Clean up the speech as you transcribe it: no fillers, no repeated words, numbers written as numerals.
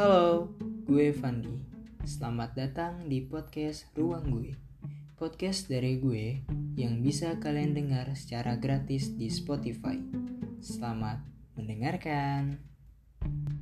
Halo, gue Fandi. Selamat datang di podcast Ruang Gue. Podcast dari gue yang bisa kalian dengar secara gratis di Spotify. Selamat mendengarkan.